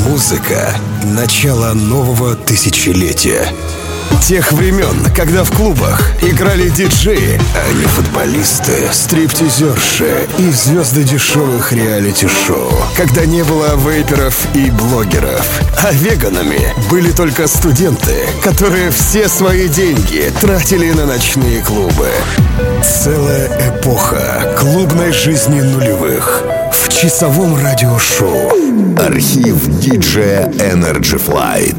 Музыка — начало нового тысячелетия. Тех времен, когда в клубах играли диджеи, а не футболисты, стриптизерши и звезды дешевых реалити-шоу. Когда не было вейперов и блогеров, а веганами были только студенты, которые все свои деньги тратили на ночные клубы. Целая эпоха клубной жизни нулевых в часовом радиошоу. Архив диджея Energy Flight.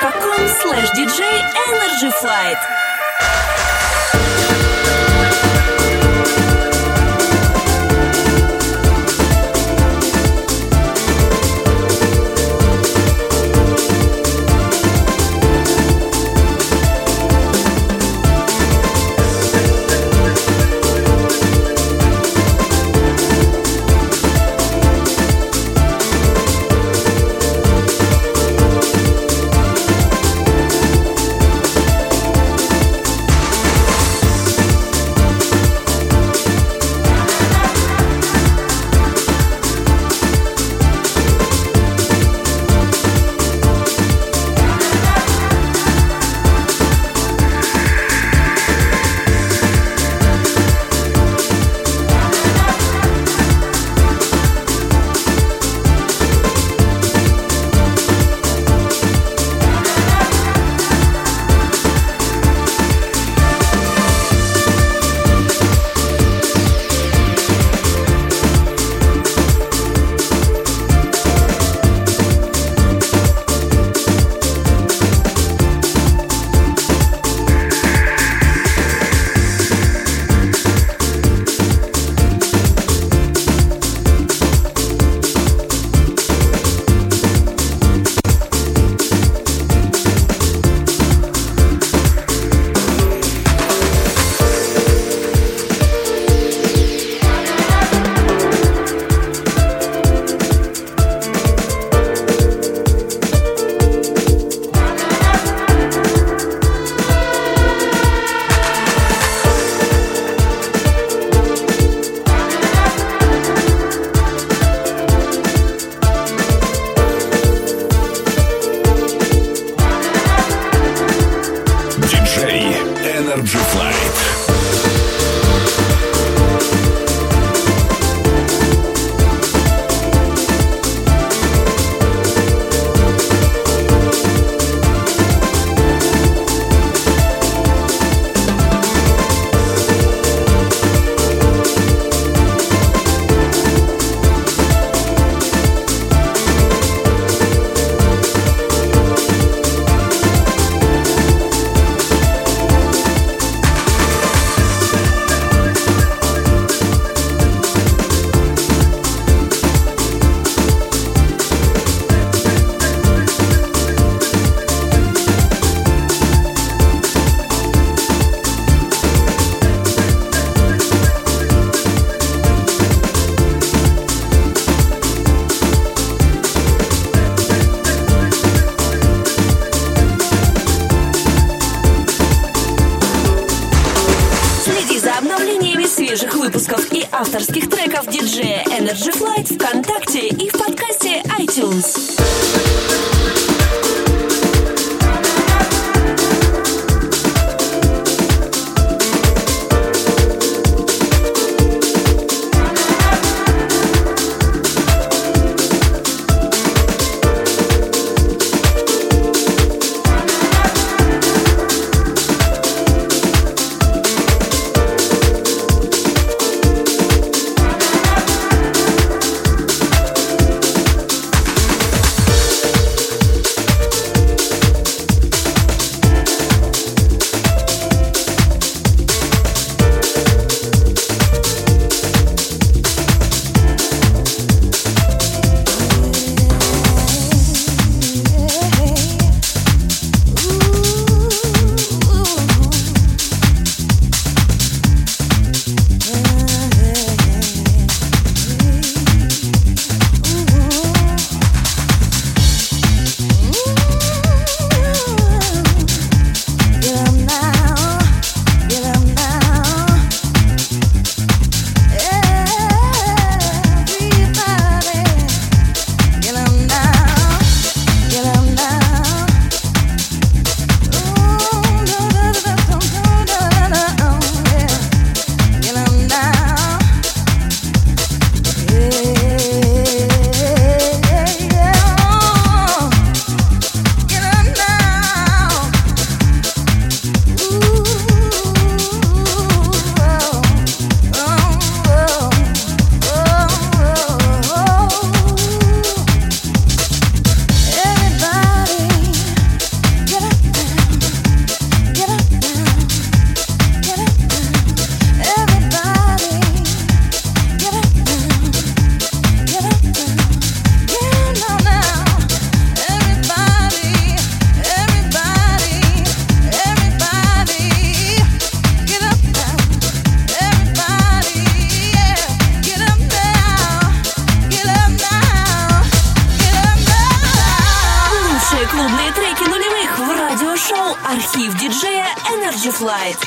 facebook.com/DJ Energy Flight. Energy Flight. Свежих выпусков и авторских треков диджея Energy Flight ВКонтакте и в подкасте iTunes. в радиошоу «Архив диджея Energy Flight».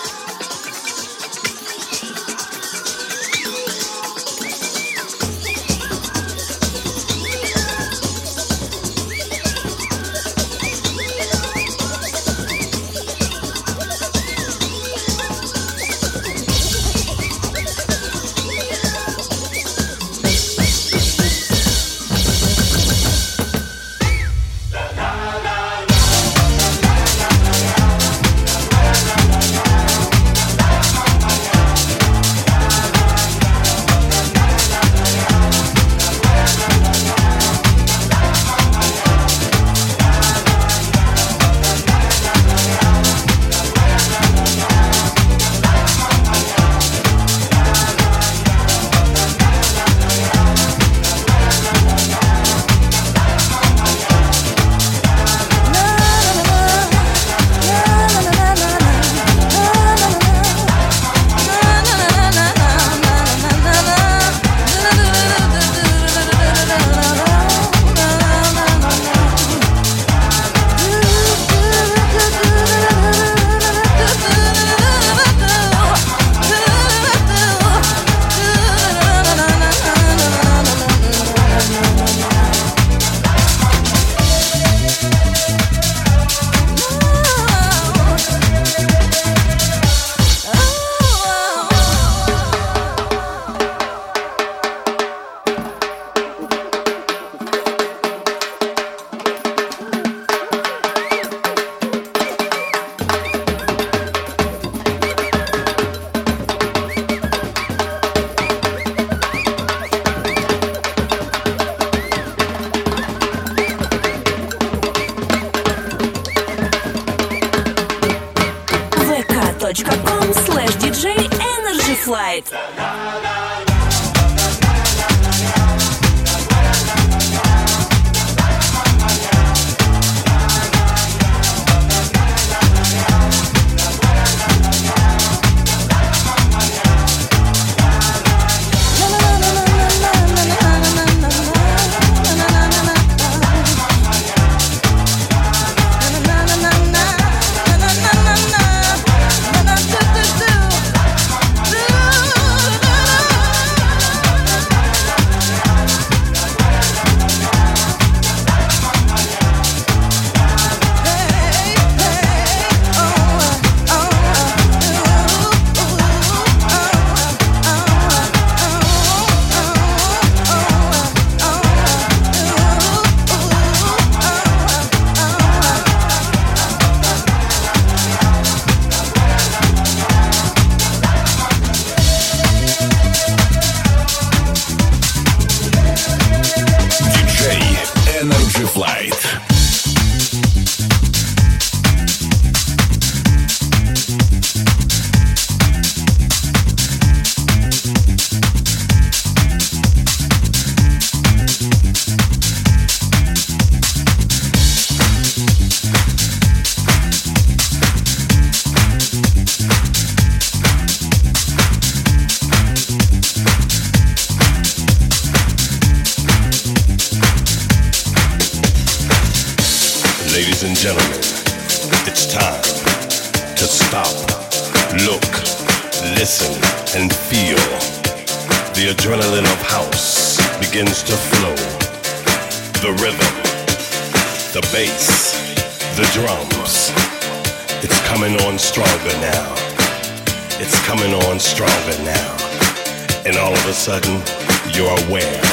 vk.com/DJ-Energy-Flight. Ladies and gentlemen, it's time to stop, look, listen, and feel. The adrenaline of house begins to flow. The rhythm, the bass, the drums. It's coming on stronger now. It's coming on stronger now. And all of a sudden, you're aware.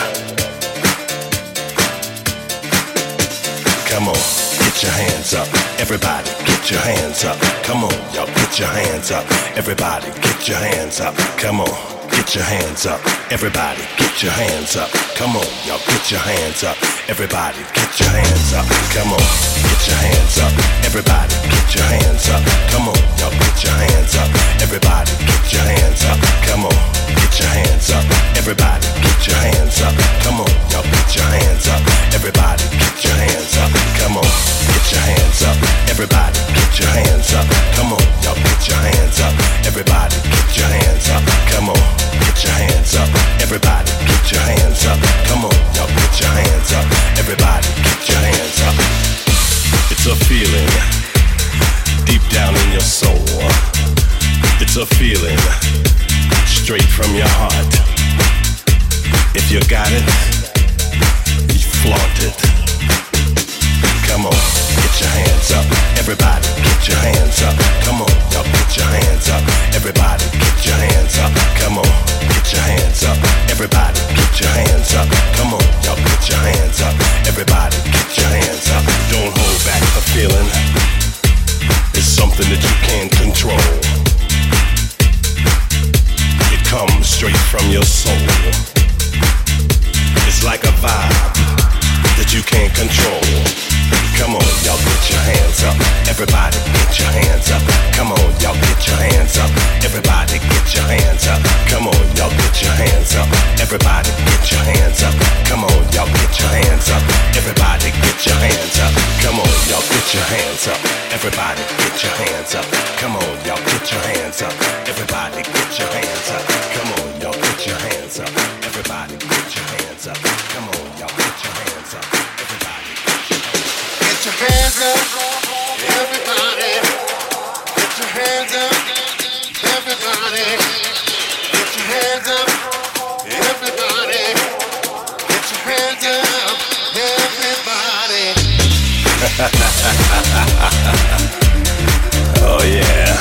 Come on. Get your hands up, everybody, get your hands up. Come on, y'all, get your hands up. Everybody, get your hands up. Come on, get your hands up. Everybody, get your hands up. Come on, y'all, get your hands up. Everybody, get your hands up. Come on, get your hands up. Everybody, get your hands up. Come on, y'all, get your hands up. Everybody, get your hands up. Come on, get your hands up. Everybody, get your hands up. Come on, y'all, get your hands up. Everybody, get your hands up. Come on. Get your hands up, everybody, get your hands up. Come on, y'all, get your hands up. Everybody, get your hands up. Come on, get your hands up. Everybody, get your hands up. Come on, y'all, get your hands up. Everybody, get your hands up. It's a feeling. feeling deep down in your soul. It's a feeling straight from your heart. If you got it, you flaunt it. Come on, get your hands up. Everybody, get your hands up. Come on, y'all get your hands up. Everybody, get your hands up. Come on, get your hands up. Everybody, get your hands up. Come on, y'all get your hands up. Everybody, get your hands up. Don't hold back the feeling. It's something that you can't control. It comes straight from your soul. It's like a vibe that you can't control. Come on, y'all get your hands up. Everybody get your hands up. Come on, y'all get your hands up. Everybody get your hands up. Come on, y'all get your hands up. Everybody get your hands up. Come on, y'all get your hands up. Everybody get your hands up. Come on, y'all get your hands up. Everybody get your hands up. Come on, y'all get your hands up. Everybody get your hands up. Come on, y'all get your hands up. Everybody get your hands up. Come on, y'all get your hands up. Everybody get your hands up, everybody. Get your hands up, everybody. Get your hands up, everybody. Get your hands up, everybody. Oh yeah.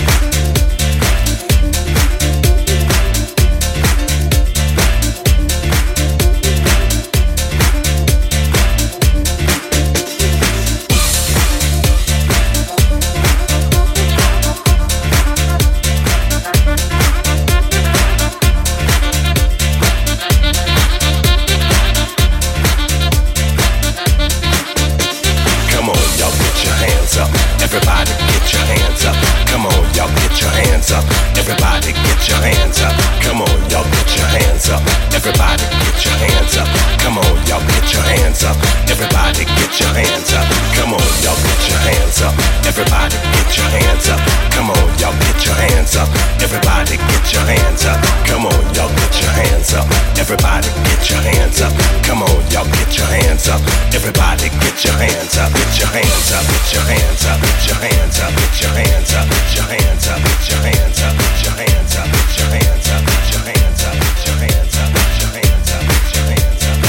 Everybody get your hands up. Come on, y'all get your hands up. Everybody get your hands up. Come on, y'all get your hands up. Everybody get your hands up. Come on, y'all get your hands up. Everybody get your hands up. Come on, y'all get your hands up. Everybody get your hands up. Come on, y'all get your hands up. Everybody get your hands up. Come on, y'all get your hands up. Everybody get your hands up. Come on, y'all get your hands up. Everybody get your hands up. Get your hands up. Get your hands up. Get your hands up. Get your hands up. Get your hands up. Get your hands up. Get your hands up. Get your hands up. Get your hands up. Get your hands up. Get your hands up. Get your hands up. Get your hands up. Get your hands up.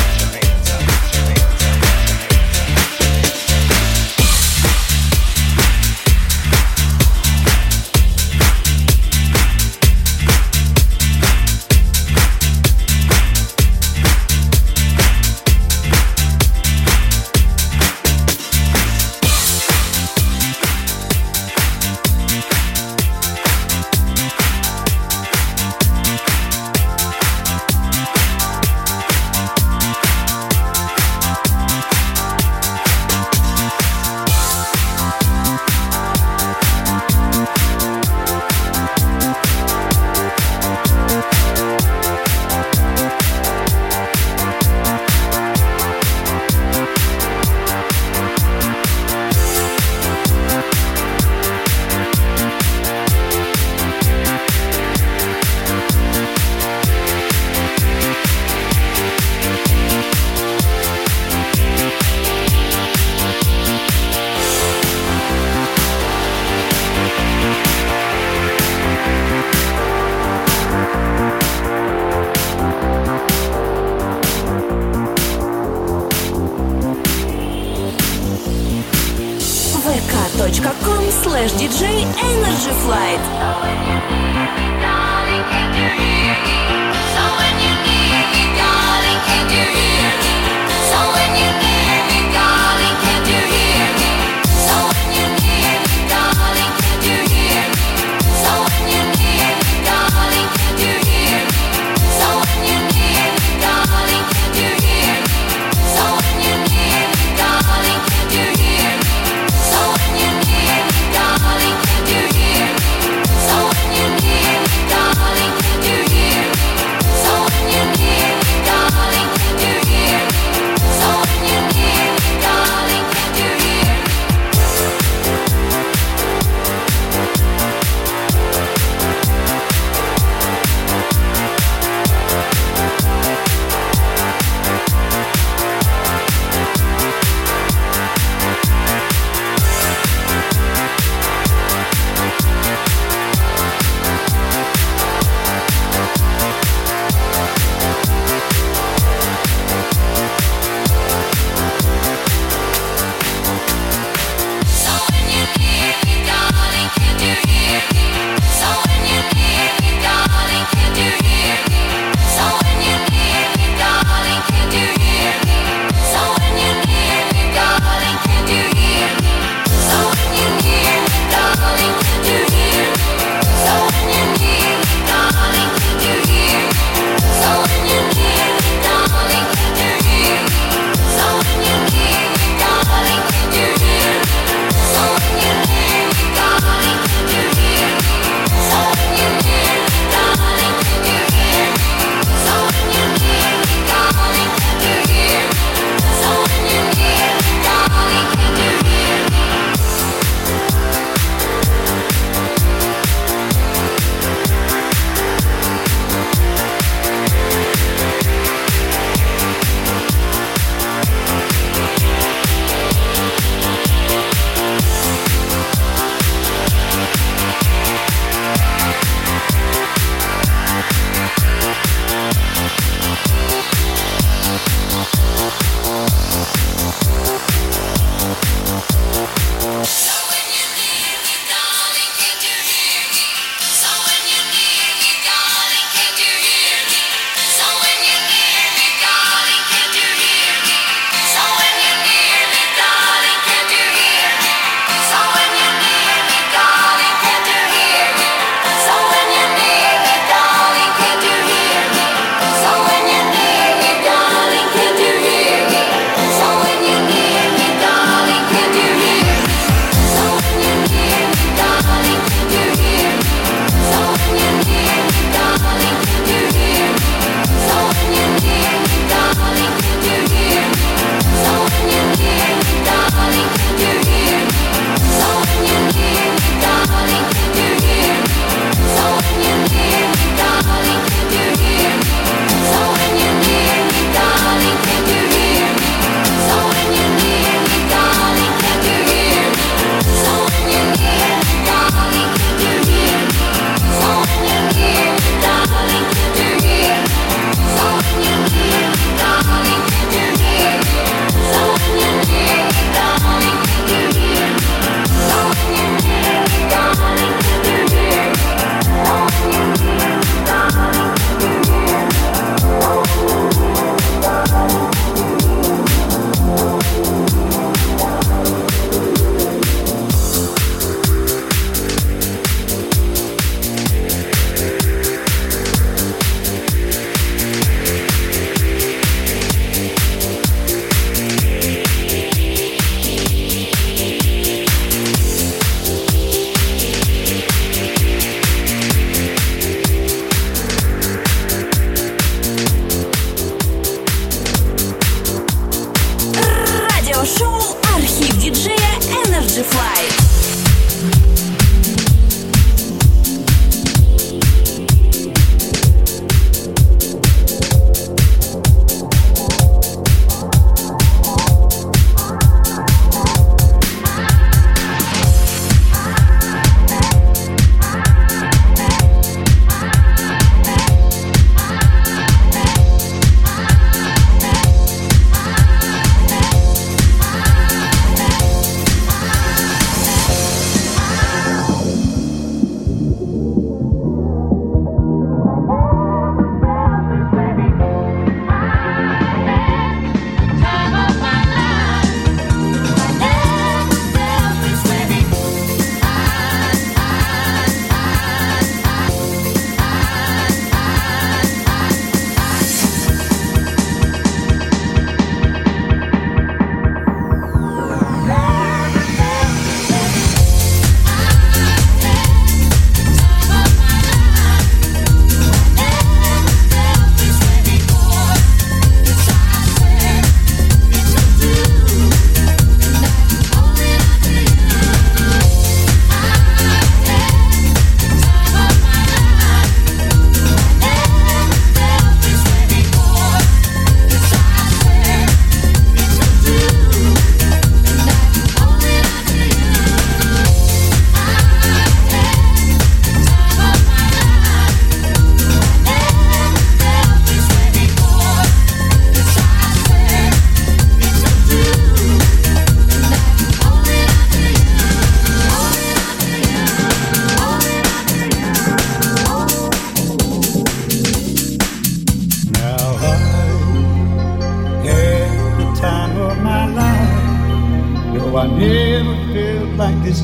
vk.com/DJ Energy Flight. So when you need me, darling, can you hear me?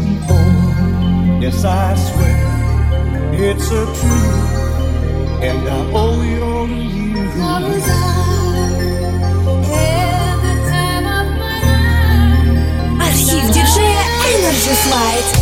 before. Yes, I swear it's a truth, and I owe it all to you. Архив диджея Energy Flight.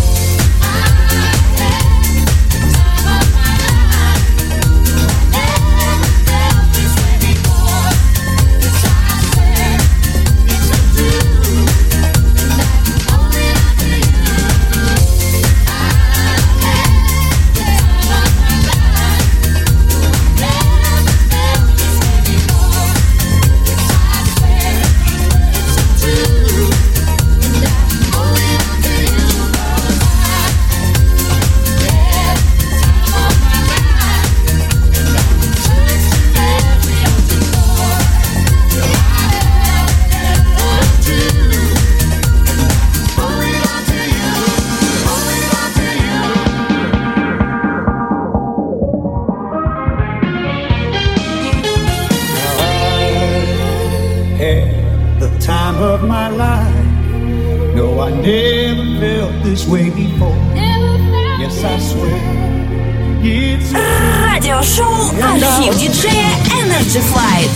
Радиошоу «Архив диджея Energy Flight».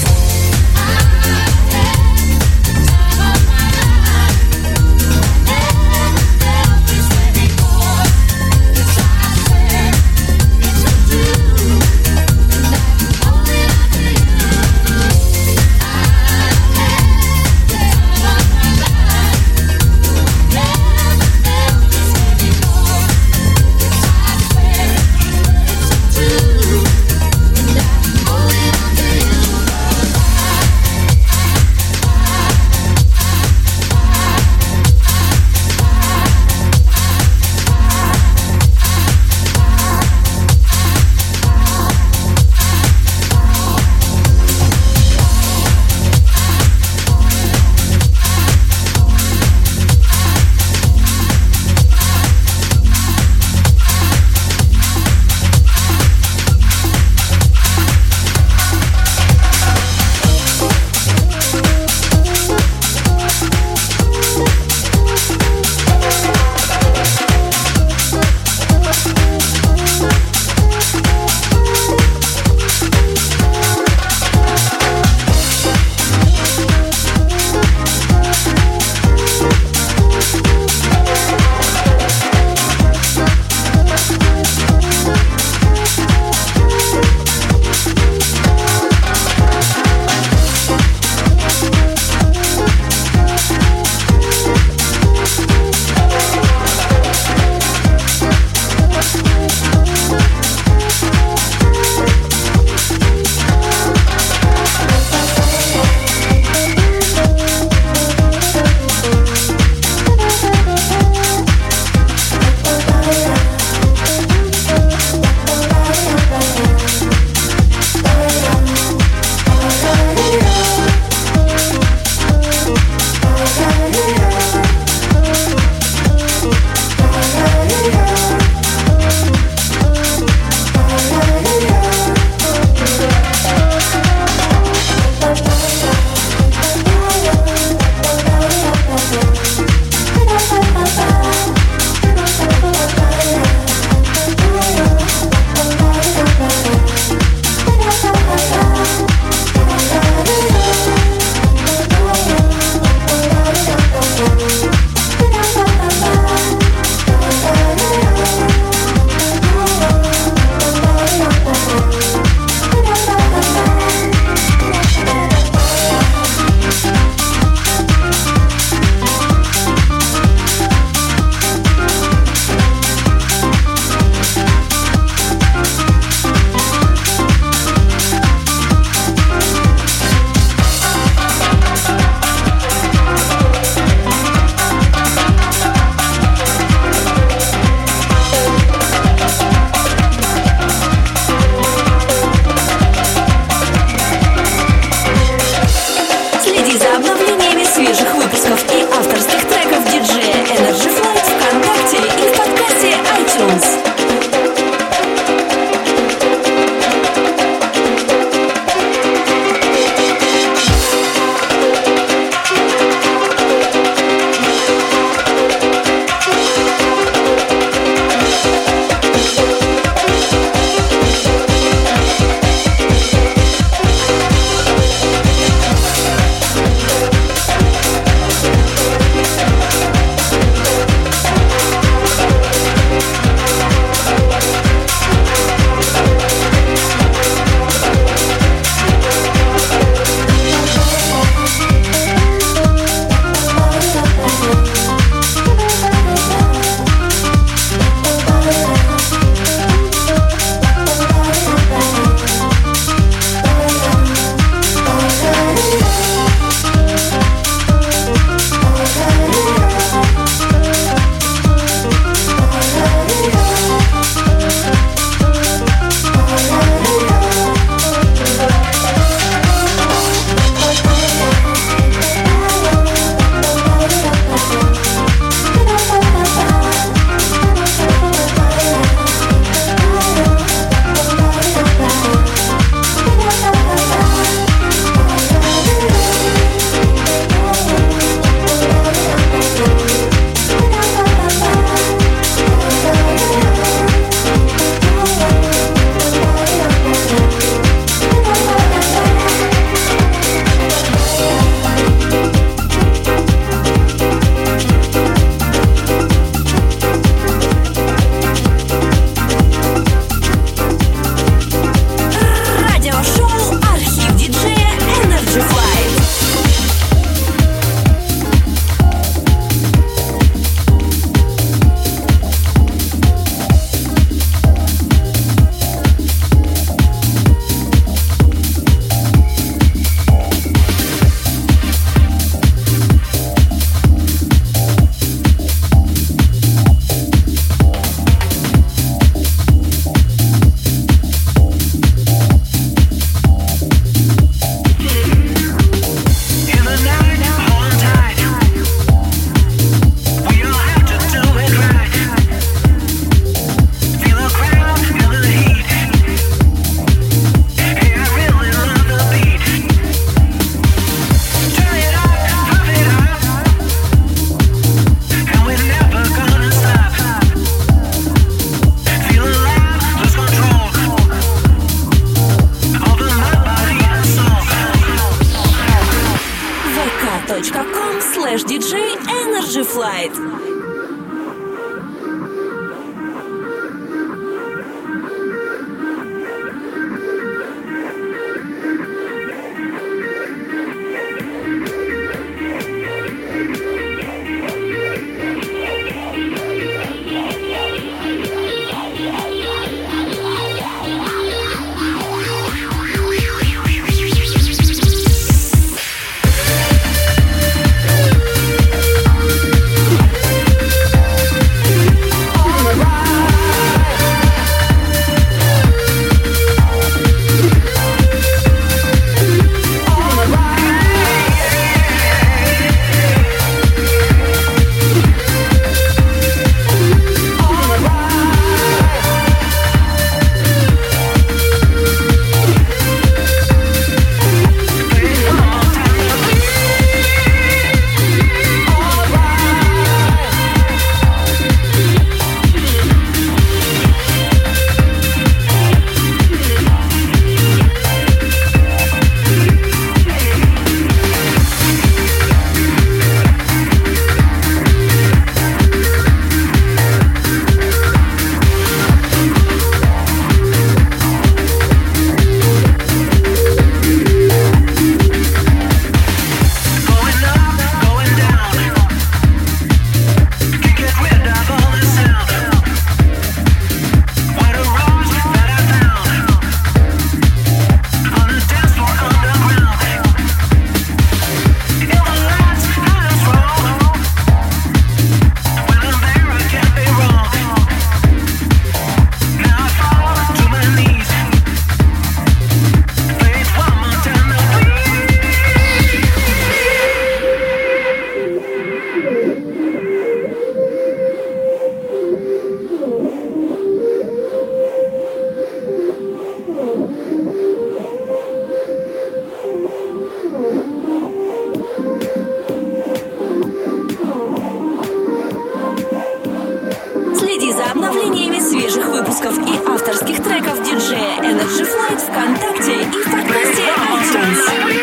за обновлениями свежих выпусков и авторских треков диджея Energy Flight ВКонтакте и в подкасте iTunes.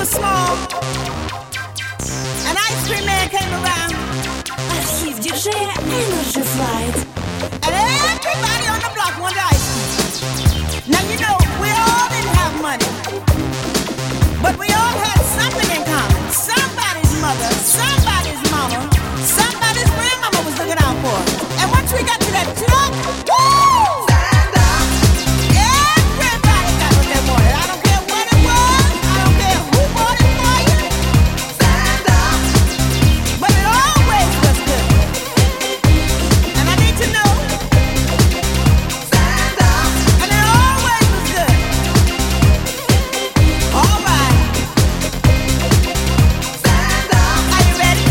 was small, an ice cream man came around. Архив диджея Energy Flight. And everybody on the block wanted ice cream. Now you know, we all didn't have money, but we all had something in common. Somebody's mother, somebody's mama, somebody's grandmama was looking out for us. And once we got to that truck, woo! Stand up! Everybody got what they wanted. I don't care what it was, I don't care who bought it for you. Stand up! But it always was good. And I need to know. Stand up! And it always was good. All right. Stand up! Are you ready?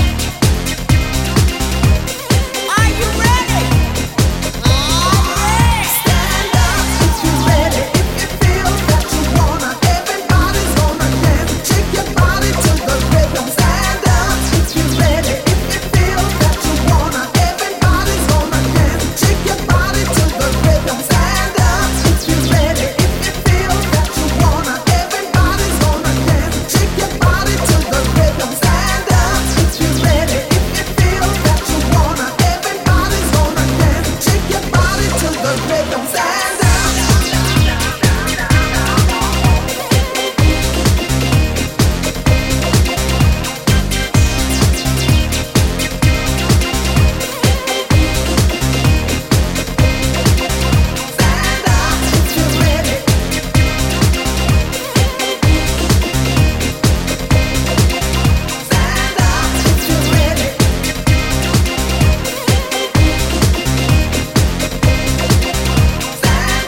Are you ready? All right. Stand up if you're ready. If you feel that you wanna, everybody's gonna dance. Shake your body to the rhythm. Stand up if you're ready. If you feel that you wanna, everybody's gonna dance. Shake your body to the rhythm. Stand up if you're ready. If you feel that you wanna, everybody's gonna dance. Shake your body to the rhythm. Stand up if you're ready. If you feel that you wanna, everybody's gonna dance. Shake your body to the rhythm. Stand up. Stand up if you're ready. Stand up if you're ready. Stand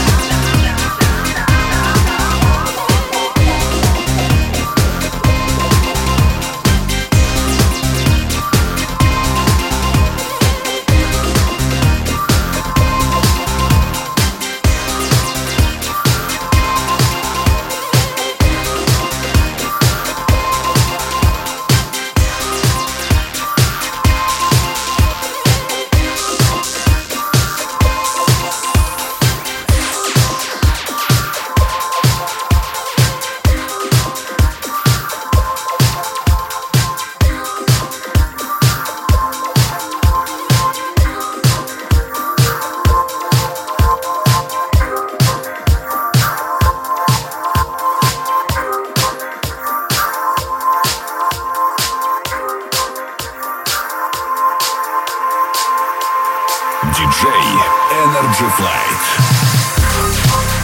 Диджей Energy Flight.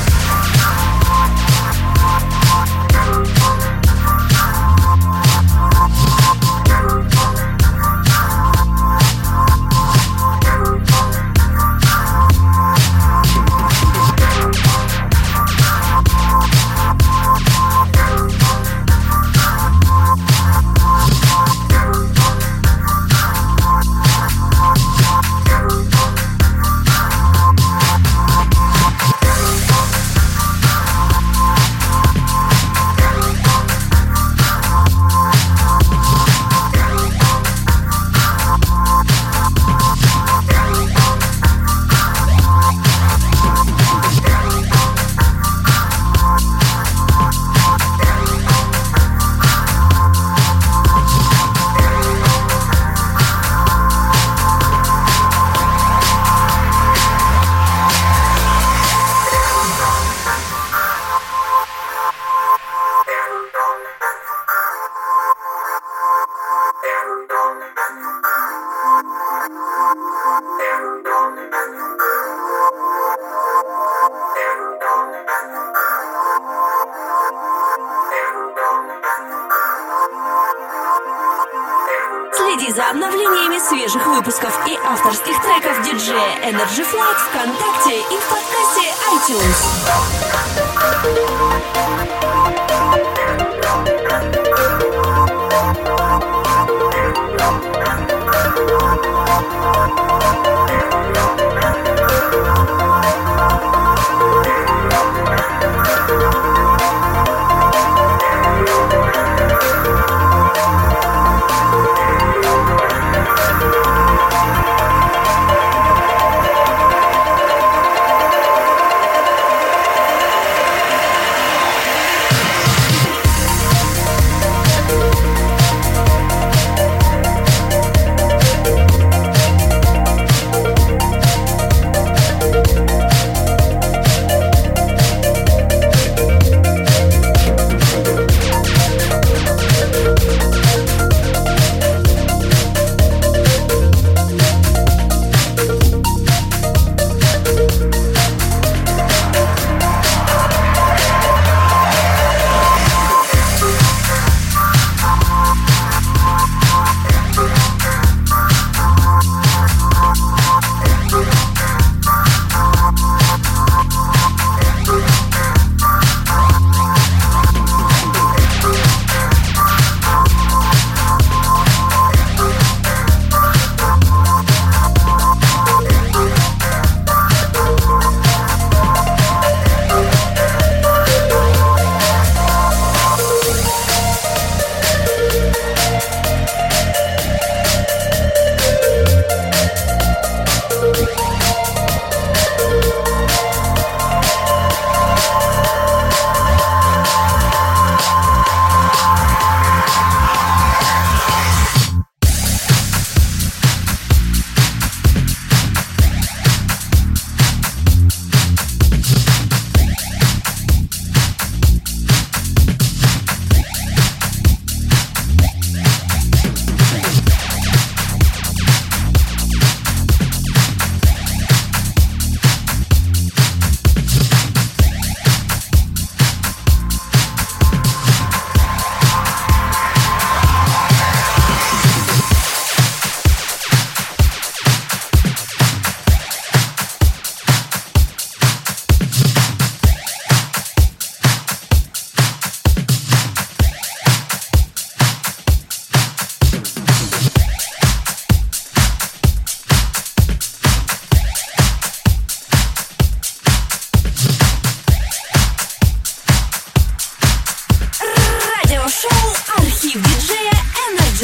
Следи за обновлениями свежих выпусков и авторских треков диджея Energy Flight ВКонтакте и в подкасте iTunes.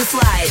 Flight.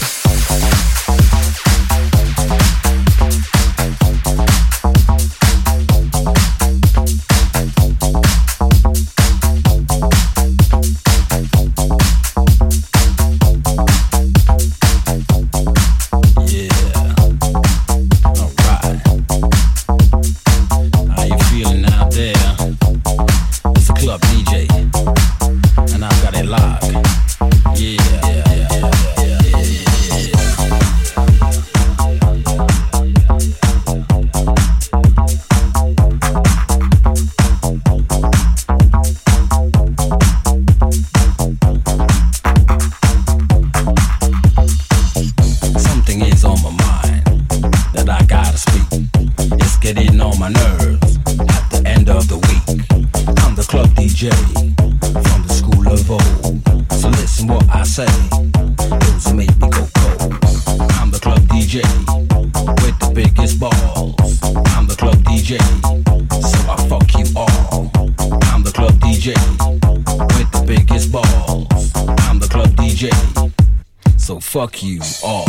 Fuck you all.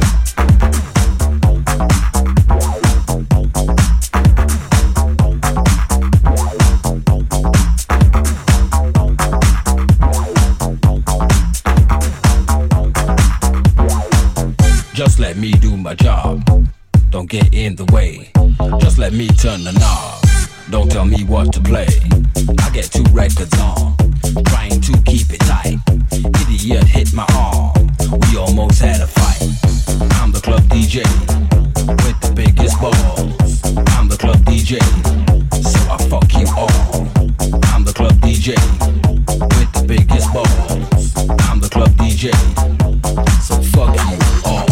Just let me do my job. Don't get in the way. Just let me turn the knob. Don't tell me what to play. I get 2 records on, trying to keep it tight. Idiot hit my arm. We almost had a fight. I'm the club DJ with the biggest balls. I'm the club DJ, so I fuck you all. I'm the club DJ with the biggest balls. I'm the club DJ, so fuck you all.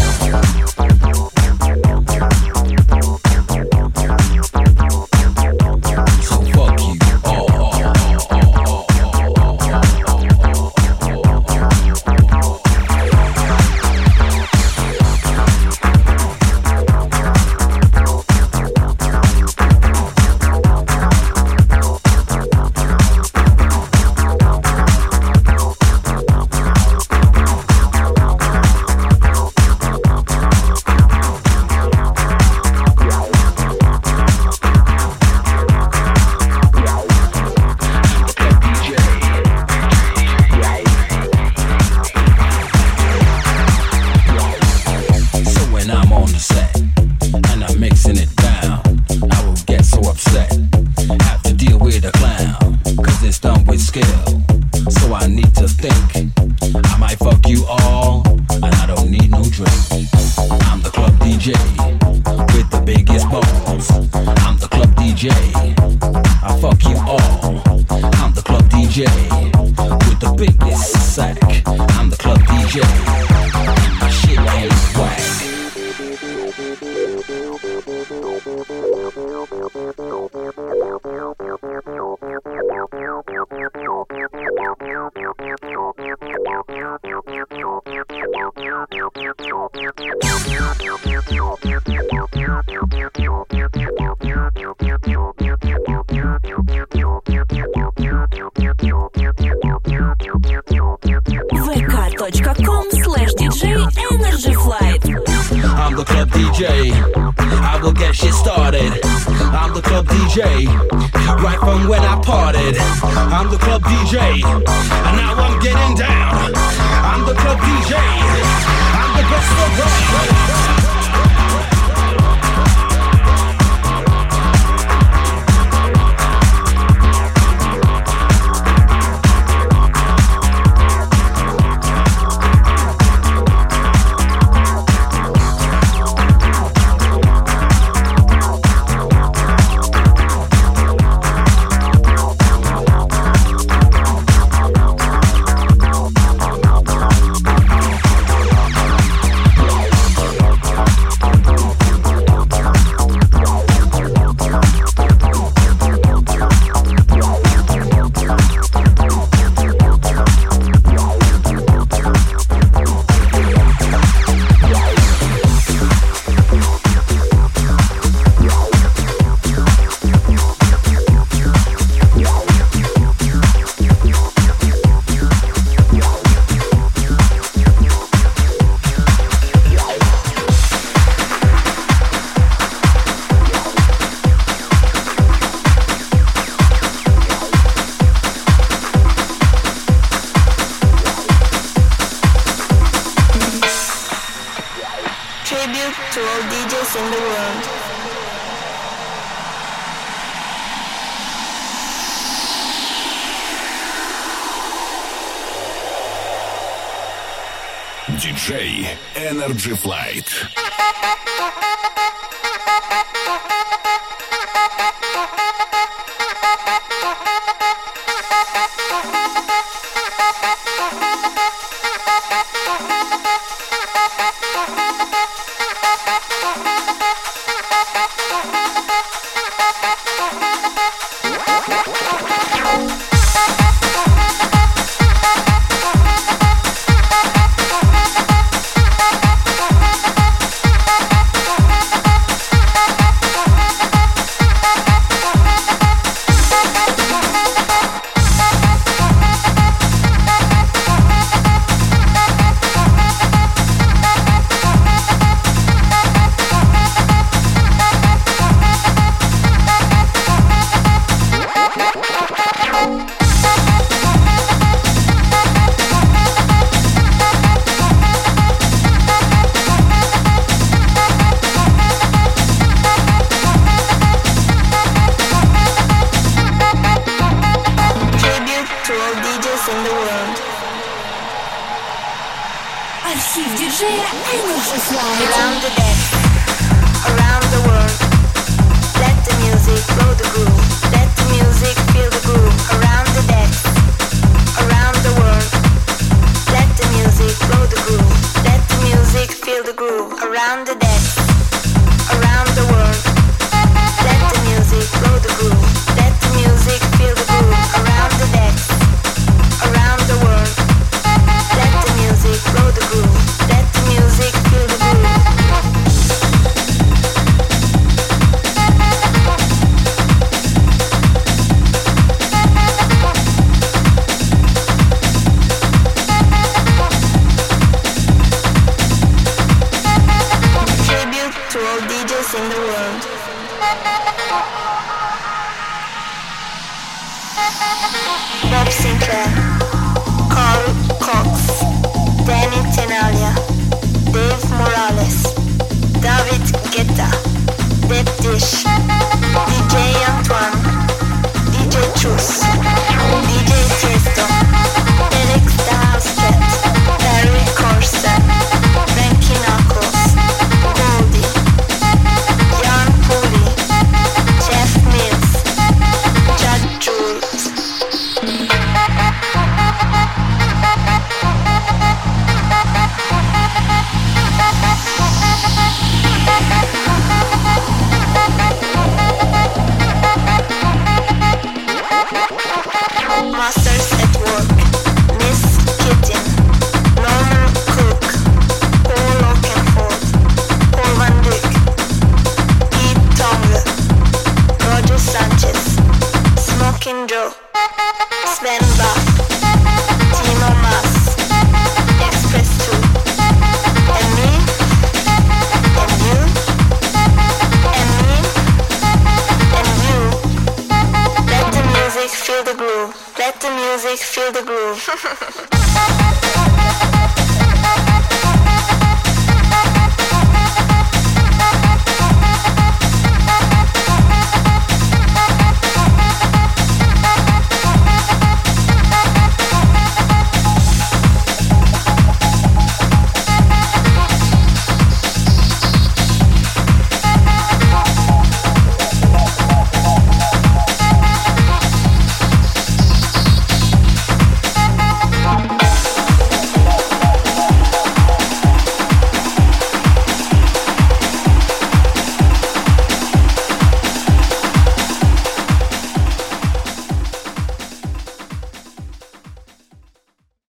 Tribute to all DJs in the world. DJ Energy Flight.